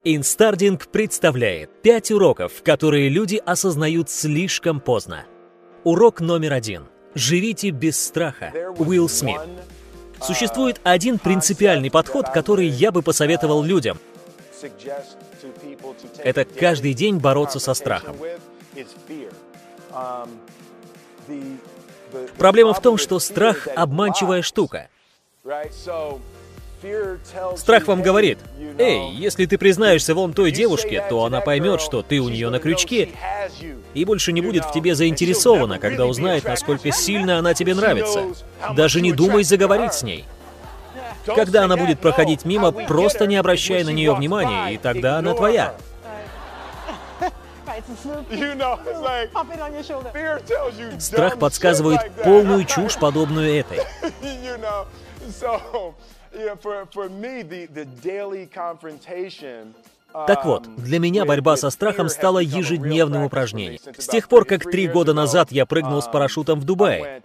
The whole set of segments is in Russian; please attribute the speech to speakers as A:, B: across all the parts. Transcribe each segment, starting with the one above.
A: Инстардинг представляет 5 уроков, которые люди осознают слишком поздно. Урок номер 1. Живите без страха. Уилл Смит. Существует один принципиальный подход, который я бы посоветовал людям. Это каждый день бороться со страхом. Проблема в том, что страх — обманчивая штука. Страх вам говорит: «Эй, если ты признаешься вон той девушке, то она поймет, что ты у нее на крючке, и больше не будет в тебе заинтересована, когда узнает, насколько сильно она тебе нравится. Даже не думай заговорить с ней. Когда она будет проходить мимо, просто не обращай на нее внимания, и тогда она твоя». Страх подсказывает полную чушь, подобную этой. Так вот, для меня борьба со страхом стала ежедневным упражнением. С тех пор, как 3 года назад я прыгнул с парашютом в Дубае.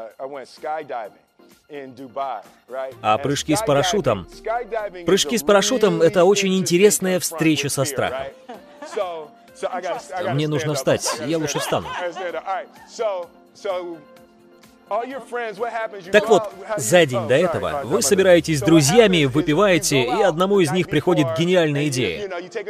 A: А прыжки с парашютом... Прыжки с парашютом — это очень интересная встреча со страхом. Мне нужно встать, я лучше встану. Так вот, за день до этого вы собираетесь с друзьями, выпиваете, и одному из них приходит гениальная идея.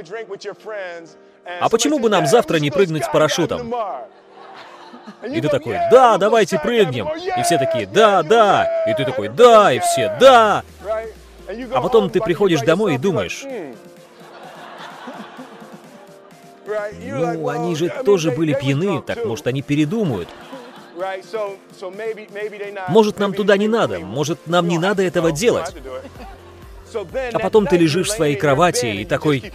A: А почему бы нам завтра не прыгнуть с парашютом? И ты такой: «Да, давайте прыгнем». И все такие: «Да, да». И ты такой: «Да», и все: «Да». А потом ты приходишь домой и думаешь: «Ну, они же тоже были пьяны, так может они передумают. Может, нам туда не надо, может, нам не надо этого делать». А потом ты лежишь в своей кровати и такой...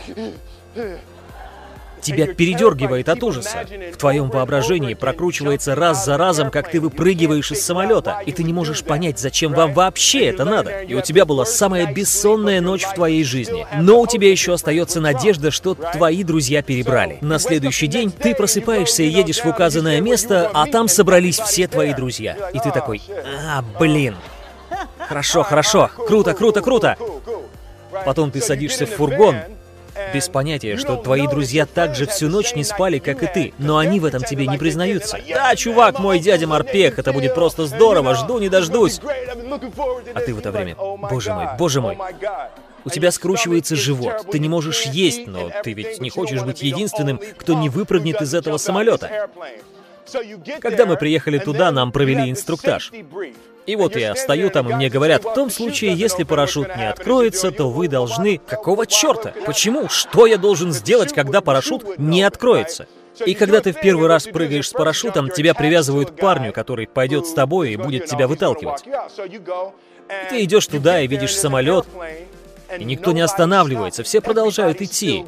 A: Тебя передергивает от ужаса. В твоем воображении прокручивается раз за разом, как ты выпрыгиваешь из самолета, и ты не можешь понять, зачем вам вообще это надо. И у тебя была самая бессонная ночь в твоей жизни. Но у тебя еще остается надежда, что твои друзья перебрали. На следующий день ты просыпаешься и едешь в указанное место, а там собрались все твои друзья. И ты такой: блин. Хорошо, хорошо, круто, круто, круто. Потом ты садишься в фургон, без понятия, что твои друзья также всю ночь не спали, как и ты, но они в этом тебе не признаются. «Да, чувак, мой дядя Морпех, это будет просто здорово, жду не дождусь». А ты в это время: «Боже мой, боже мой». У тебя скручивается живот, ты не можешь есть, но ты ведь не хочешь быть единственным, кто не выпрыгнет из этого самолета. Когда мы приехали туда, нам провели инструктаж. И вот я стою там, и мне говорят: «В том случае, если парашют не откроется, то вы должны...» Какого черта? Почему? Что я должен сделать, когда парашют не откроется? И когда ты в первый раз прыгаешь с парашютом, тебя привязывают к парню, который пойдет с тобой и будет тебя выталкивать. И ты идешь туда и видишь самолет, и никто не останавливается, все продолжают идти.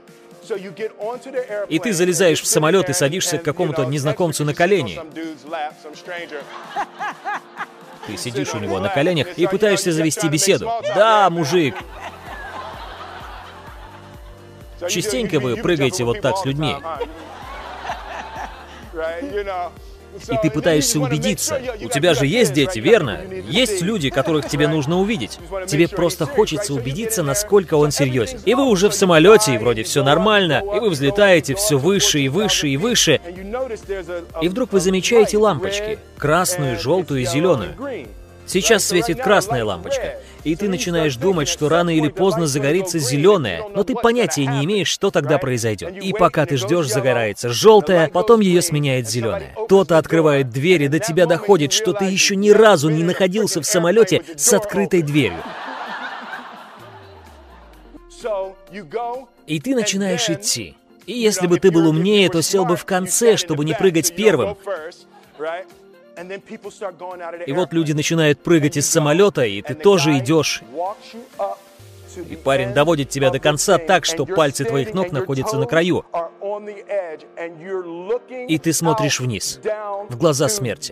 A: И ты залезаешь в самолет и садишься к какому-то незнакомцу на колени. Ты сидишь у него на коленях и пытаешься завести беседу. «Да, мужик». Частенько вы прыгаете вот так с людьми. И ты пытаешься убедиться. У тебя же есть дети, верно? Есть люди, которых тебе нужно увидеть. Тебе просто хочется убедиться, насколько он серьезен. И вы уже в самолете, и вроде все нормально, и вы взлетаете все выше и выше и выше. И вдруг вы замечаете лампочки. Красную, желтую и зеленую. Сейчас светит красная лампочка, и ты начинаешь думать, что рано или поздно загорится зеленая, но ты понятия не имеешь, что тогда произойдет. И пока ты ждешь, загорается желтая, потом ее сменяет зеленая. Кто-то открывает дверь, и до тебя доходит, что ты еще ни разу не находился в самолете с открытой дверью. И ты начинаешь идти. И если бы ты был умнее, то сел бы в конце, чтобы не прыгать первым. И вот люди начинают прыгать из самолета, и ты тоже идешь. И парень доводит тебя до конца так, что пальцы твоих ног находятся на краю. И ты смотришь вниз, в глаза смерти.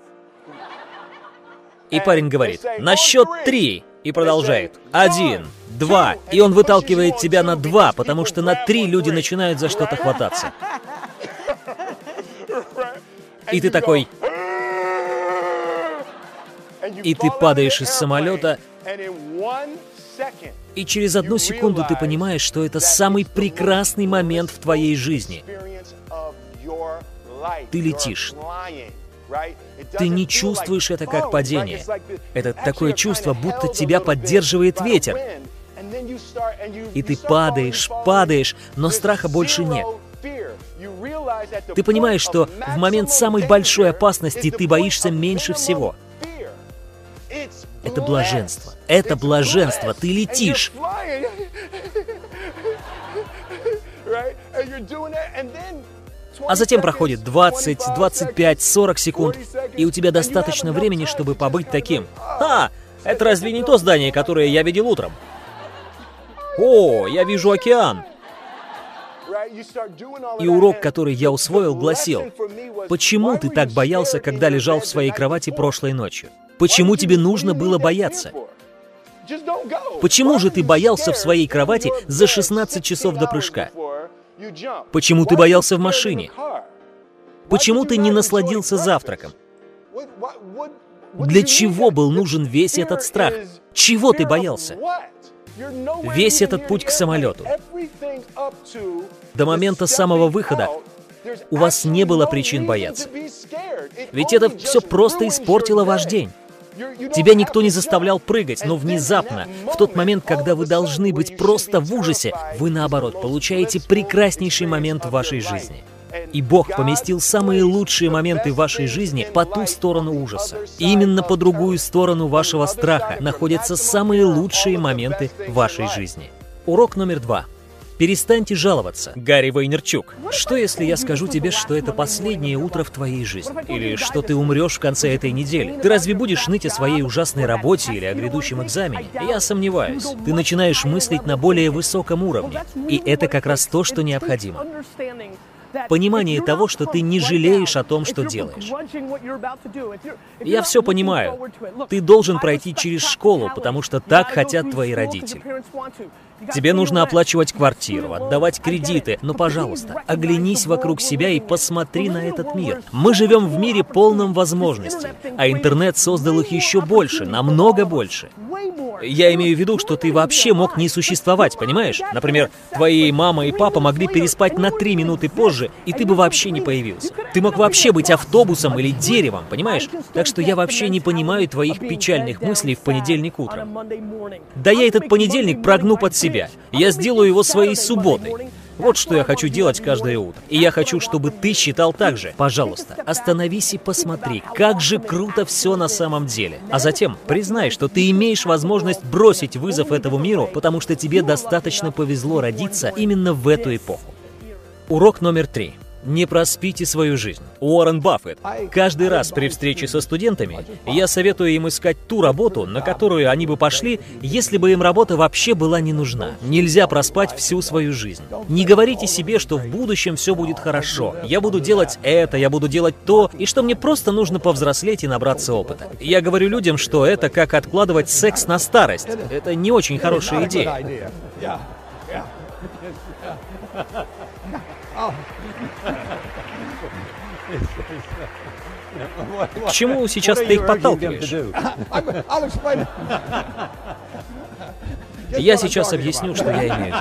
A: И парень говорит: «На счет 3». И продолжает: 1, 2. И он выталкивает тебя на 2, потому что на 3 люди начинают за что-то хвататься. И ты такой... И ты падаешь из самолета, И через 1 секунду ты понимаешь, что это самый прекрасный момент в твоей жизни. Ты летишь. Ты не чувствуешь это как падение. Это такое чувство, будто тебя поддерживает ветер. И ты падаешь, падаешь, но страха больше нет. Ты понимаешь, что в момент самой большой опасности ты боишься меньше всего. Это блаженство. Это блаженство. Ты летишь. А затем проходит 20, 25, 40 секунд, и у тебя достаточно времени, чтобы побыть таким. Это разве не то здание, которое я видел утром? О, я вижу океан. И урок, который я усвоил, гласил: почему ты так боялся, когда лежал в своей кровати прошлой ночью? Почему тебе нужно было бояться? Почему же ты боялся в своей кровати за 16 часов до прыжка? Почему ты боялся в машине? Почему ты не насладился завтраком? Для чего был нужен весь этот страх? Чего ты боялся? Весь этот путь к самолету, до момента самого выхода, у вас не было причин бояться. Ведь это все просто испортило ваш день. Тебя никто не заставлял прыгать, но внезапно, в тот момент, когда вы должны быть просто в ужасе, вы, наоборот, получаете прекраснейший момент в вашей жизни. И Бог поместил самые лучшие моменты в вашей жизни по ту сторону ужаса. И именно по другую сторону вашего страха находятся самые лучшие моменты в вашей жизни. Урок номер 2. Перестаньте жаловаться. Гарри Вайнерчук. Что если я скажу тебе, что это последнее утро в твоей жизни? Или что ты умрешь в конце этой недели? Ты разве будешь ныть о своей ужасной работе или о грядущем экзамене? Я сомневаюсь. Ты начинаешь мыслить на более высоком уровне. И это как раз то, что необходимо. Понимание того, что ты не жалеешь о том, что делаешь. Я все понимаю. Ты должен пройти через школу, потому что так хотят твои родители. Тебе нужно оплачивать квартиру, отдавать кредиты, но, пожалуйста, оглянись вокруг себя и посмотри на этот мир. Мы живем в мире полном возможностей, а интернет создал их еще больше, намного больше. Я имею в виду, что ты вообще мог не существовать, понимаешь? Например, твои мама и папа могли переспать на 3 минуты позже, и ты бы вообще не появился. Ты мог вообще быть автобусом или деревом, понимаешь? Так что я вообще не понимаю твоих печальных мыслей в понедельник утром. Да я этот понедельник прогну под себя. Я сделаю его своей субботой. Вот что я хочу делать каждое утро. И я хочу, чтобы ты считал так же. Пожалуйста, остановись и посмотри, как же круто все на самом деле. А затем признай, что ты имеешь возможность бросить вызов этому миру, потому что тебе достаточно повезло родиться именно в эту эпоху. Урок номер 3. Не проспите свою жизнь. Уоррен Баффет. Каждый раз при встрече со студентами я советую им искать ту работу, на которую они бы пошли, если бы им работа вообще была не нужна. Нельзя проспать всю свою жизнь. Не говорите себе, что в будущем все будет хорошо. Я буду делать это, я буду делать то, и что мне просто нужно повзрослеть и набраться опыта. Я говорю людям, что это как откладывать секс на старость. Это не очень хорошая идея. К чему сейчас ты их подталкиваешь? Я сейчас объясню, что я имею в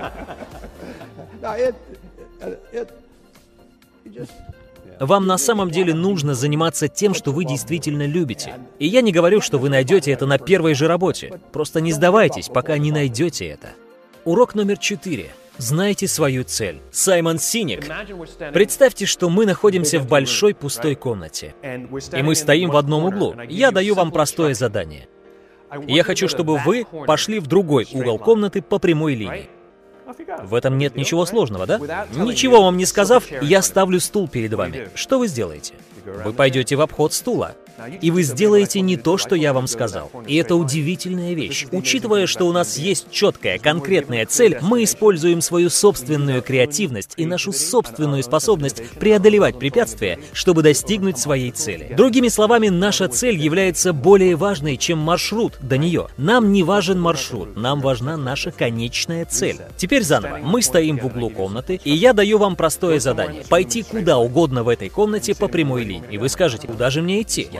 A: виду. Вам на самом деле нужно заниматься тем, что вы действительно любите. И я не говорю, что вы найдете это на первой же работе. Просто не сдавайтесь, пока не найдете это. Урок номер 4. Знайте свою цель. Саймон Синек. Представьте, что мы находимся в большой пустой комнате. И мы стоим в одном углу. Я даю вам простое задание. Я хочу, чтобы вы пошли в другой угол комнаты по прямой линии. В этом нет ничего сложного, да? Ничего вам не сказав, я ставлю стул перед вами. Что вы сделаете? Вы пойдете в обход стула. И вы сделаете не то, что я вам сказал. И это удивительная вещь. Учитывая, что у нас есть четкая, конкретная цель, мы используем свою собственную креативность и нашу собственную способность преодолевать препятствия, чтобы достигнуть своей цели. Другими словами, наша цель является более важной, чем маршрут до нее. Нам не важен маршрут, нам важна наша конечная цель. Теперь заново. Мы стоим в углу комнаты, и я даю вам простое задание. Пойти куда угодно в этой комнате по прямой линии. И вы скажете, куда же мне идти? Я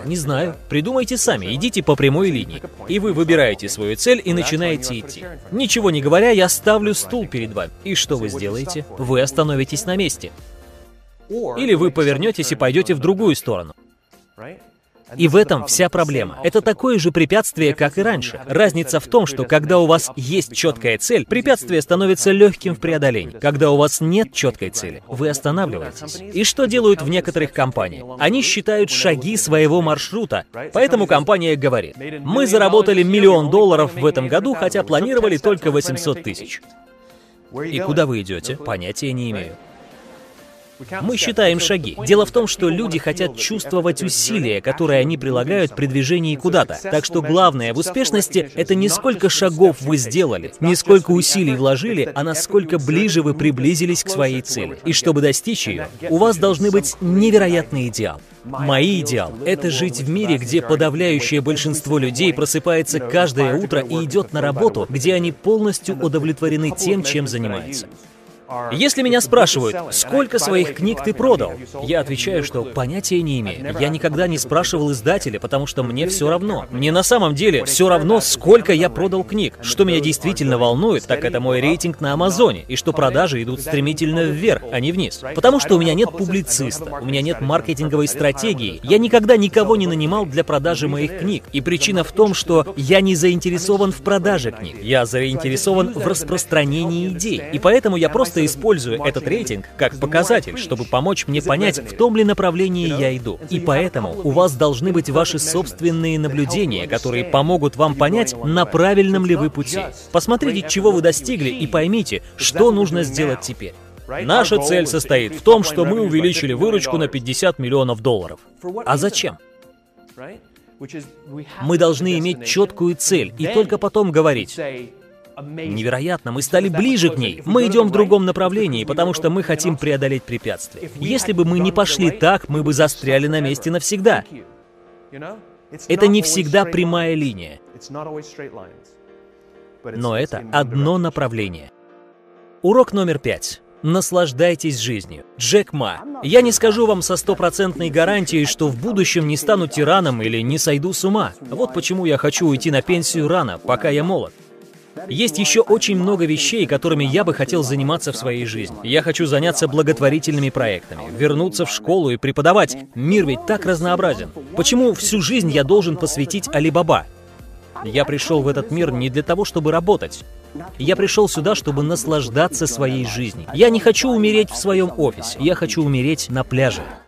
A: Не знаю. Придумайте сами, идите по прямой линии. И вы выбираете свою цель и начинаете идти. Ничего не говоря, я ставлю стул перед вами. И что вы сделаете? Вы остановитесь на месте. Или вы повернетесь и пойдете в другую сторону. И в этом вся проблема. Это такое же препятствие, как и раньше. Разница в том, что когда у вас есть четкая цель, препятствие становится легким в преодолении. Когда у вас нет четкой цели, вы останавливаетесь. И что делают в некоторых компаниях? Они считают шаги своего маршрута. Поэтому компания говорит: мы заработали $1 миллион в этом году, хотя планировали только 800 тысяч. И куда вы идете? Понятия не имею. Мы считаем шаги. Дело в том, что люди хотят чувствовать усилия, которые они прилагают при движении куда-то. Так что главное в успешности — это не сколько шагов вы сделали, не сколько усилий вложили, а насколько ближе вы приблизились к своей цели. И чтобы достичь ее, у вас должны быть невероятные идеалы. Мои идеалы — это жить в мире, где подавляющее большинство людей просыпается каждое утро и идет на работу, где они полностью удовлетворены тем, чем занимаются. Если меня спрашивают, сколько своих книг ты продал, я отвечаю, что понятия не имею. Я никогда не спрашивал издателя, потому что мне все равно. Мне на самом деле все равно, сколько я продал книг. Что меня действительно волнует, так это мой рейтинг на Амазоне, и что продажи идут стремительно вверх, а не вниз. Потому что у меня нет публициста, у меня нет маркетинговой стратегии. Я никогда никого не нанимал для продажи моих книг. И причина в том, что я не заинтересован в продаже книг. Я заинтересован в распространении идей. И поэтому я просто использую этот рейтинг как показатель, чтобы помочь мне понять, в том ли направлении я иду. И поэтому у вас должны быть ваши собственные наблюдения, которые помогут вам понять, на правильном ли вы пути. Посмотрите, чего вы достигли, и поймите, что нужно сделать теперь. Наша цель состоит в том, что мы увеличили выручку на $50 миллионов. А зачем? Мы должны иметь четкую цель и только потом говорить: невероятно, мы стали ближе к ней. Мы идем в другом направлении, потому что мы хотим преодолеть препятствия. Если бы мы не пошли так, мы бы застряли на месте навсегда. Это не всегда прямая линия. Но это одно направление. Урок номер 5. Наслаждайтесь жизнью. Джек Ма. Я не скажу вам со стопроцентной гарантией, что в будущем не стану тираном или не сойду с ума. Вот почему я хочу уйти на пенсию рано, пока я молод. Есть еще очень много вещей, которыми я бы хотел заниматься в своей жизни. Я хочу заняться благотворительными проектами, вернуться в школу и преподавать. Мир ведь так разнообразен. Почему всю жизнь я должен посвятить Алибаба? Я пришел в этот мир не для того, чтобы работать. Я пришел сюда, чтобы наслаждаться своей жизнью. Я не хочу умереть в своем офисе. Я хочу умереть на пляже.